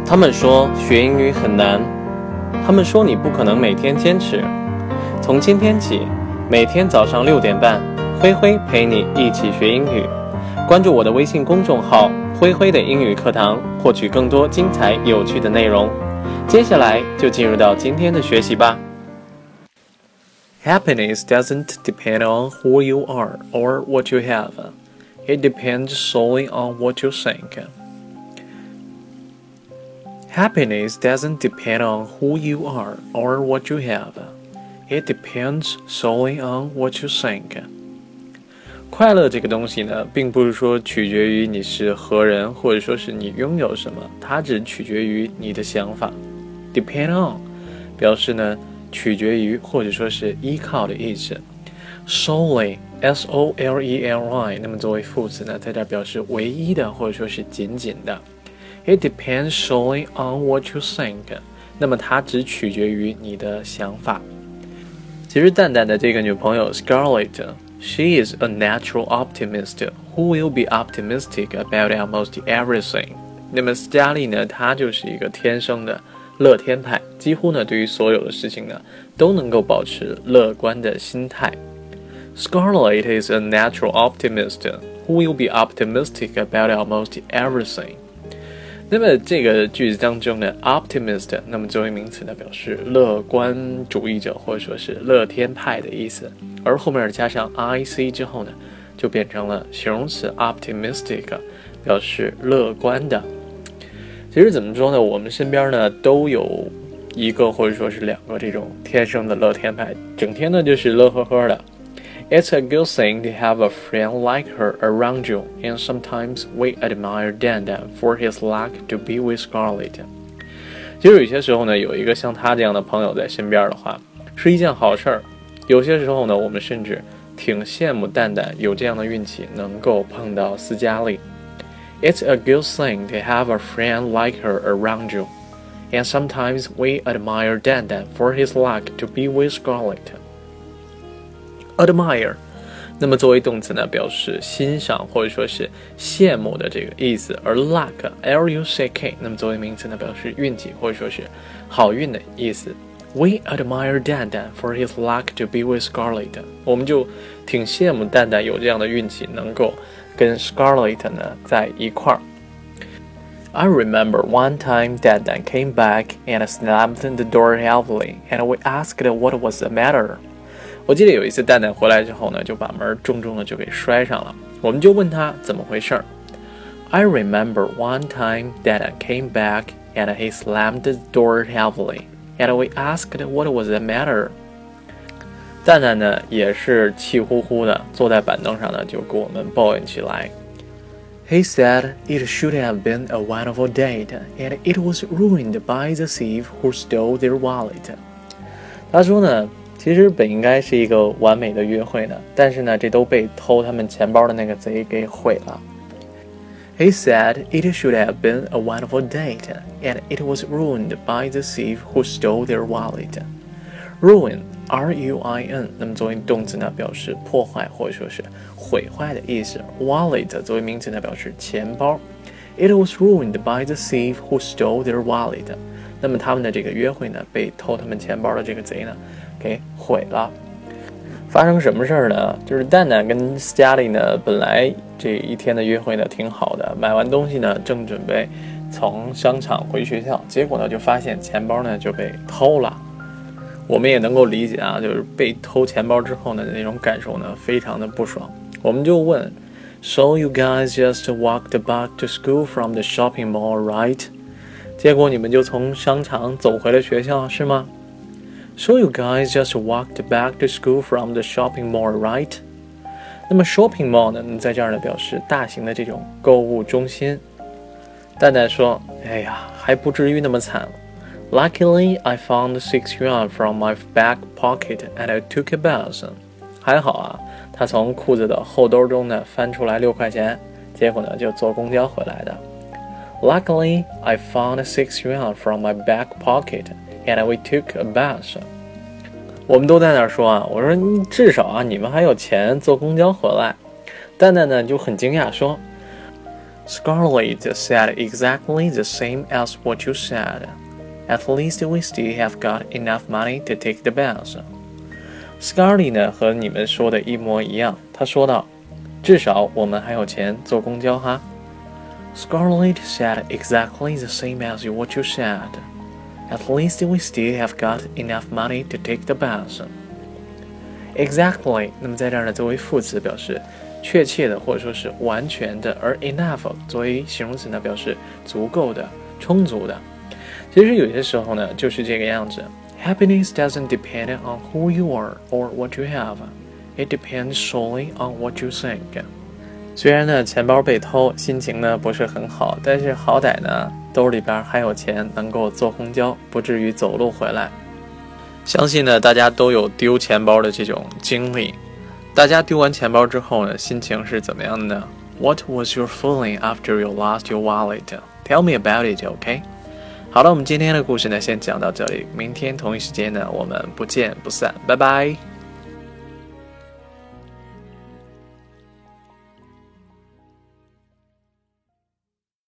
他们说学英语很难，他们说你不可能每天坚持。从今天起，每天早上6点半，灰灰陪你一起学英语。关注我的微信公众号灰灰的英语课堂，获取更多精彩有趣的内容。接下来就进入到今天的学习吧。Happiness doesn't depend on who you are or what you have. It depends solely on what you think. Happiness doesn't depend on who you are or what you have. It depends solely on what you think. 快乐这个东西呢，并不是说取决于你是何人，或者说是你拥有什么，它只取决于你的想法。Depend on 表示呢取决于或者说是依靠的意思。Solely S-O-L-E-L-Y 那么作为副词呢，在这表示唯一的或者说是仅仅的。It depends solely on what you think. 那么它只取决于你的想法。其实蛋蛋的这个女朋友 Scarlett, she is a natural optimist who will be optimistic about almost everything. 那么斯嘉丽呢，她就是一个天生的乐天派，几乎呢对于所有的事情呢都能够保持乐观的心态。Scarlett is a natural optimist who will be optimistic about almost everything. 那么这个句子当中呢 optimist 那么作为名词呢表示乐观主义者或者说是乐天派的意思，而后面加上 ic 之后呢就变成了形容词 optimistic 表示乐观的。其实怎么说呢，我们身边呢都有一个或者说是两个这种天生的乐天派，整天呢就是乐呵呵的。It's a good thing to have a friend like her around you, and sometimes we admire Dan for his luck to be with Scarlett. 其实有些时候呢，有一个像他这样的朋友在身边的话，是一件好事儿。有些时候呢，我们甚至挺羡慕蛋蛋有这样的运气，能够碰到斯嘉丽。It's a good thing to have a friend like her around you, and sometimes we admire Dan for his luck to be with Scarlett.Admire 那么作为动词呢表示欣赏或者说是羡慕的这个意思，而 luck L-U-C-K 那么作为名词呢表示运气或者说是好运的意思。 We admire Dan for his luck to be with Scarlett. 我们就挺羡慕蛋蛋有这样的运气能够跟 Scarlett 呢在一块儿。I remember one time Dan came back and slammed the door heavily, and we asked what was the matter.我记得有一次蛋蛋回来之后呢，就把门重重的就给摔上了，我们就问他怎么回事。I remember one time Dan came back and he slammed the door heavily, and we asked what was the matter. 蛋蛋呢也是气呼呼的坐在板凳上呢，就给我们抱怨起来。He said it should have been a wonderful date, and it was ruined by the thief who stole their wallet. 他说呢其实本应该是一个完美的约会呢，但是呢这都被偷他们钱包的那个贼给毁了。He said it should have been a wonderful date, and it was ruined by the thief who stole their wallet. Ruin, R-U-I-N 那么作为动词呢表示破坏或者说是毁坏的意思， Wallet 作为名词呢表示钱包。It was ruined by the thief who stole their wallet. 那么他们的这个约会呢被偷他们钱包的这个贼呢给毁了。发生什么事儿呢？就是蛋蛋跟斯嘉丽呢本来这一天的约会呢挺好的，买完东西呢正准备从商场回学校，结果呢就发现钱包呢就被偷了。我们也能够理解啊，就是被偷钱包之后呢那种感受呢非常的不爽。我们就问 So you guys just walked back to school from the shopping mall, right? 结果你们就从商场走回了学校是吗？ So you guys just walked back to school from the shopping mall, right? 那么 shopping mall 呢在这儿呢表示大型的这种购物中心。蛋蛋说哎呀还不至于那么惨。Luckily, I found 6 yuan from my back pocket and I took a bus. 还好啊，他从裤子的后兜中呢翻出来6块钱，结果呢就坐公交回来的。Luckily, I found 6 yuan from my back pocket and we took a bus. 我们都在那儿说啊，我说至少啊你们还有钱坐公交回来。蛋蛋呢就很惊讶说 Scarlett said exactly the same as what you said. At least we still have got enough money to take the bus. Scarlett 呢和你们说的一模一样，她说道，至少我们还有钱坐公交哈。Scarlett said exactly the same as what you said. At least we still have got enough money to take the bus. Exactly， 那么在这儿呢，作为副词表示确切的或者说是完全的，而 enough 作为形容词呢，表示足够的、充足的。其实有些时候呢，就是这个样子。Happiness doesn't depend on who you are or what you have. It depends solely on what you think. 虽然呢钱包被偷，心情呢不是很好，但是好歹呢兜里边还有钱，能够坐公交，不至于走路回来。相信呢大家都有丢钱包的这种经历。大家丢完钱包之后呢，心情是怎么样的呢？ What was your feeling after you lost your wallet? Tell me about it, OK? 好了，我们今天的故事呢，先讲到这里。明天同一时间呢，我们不见不散，拜拜。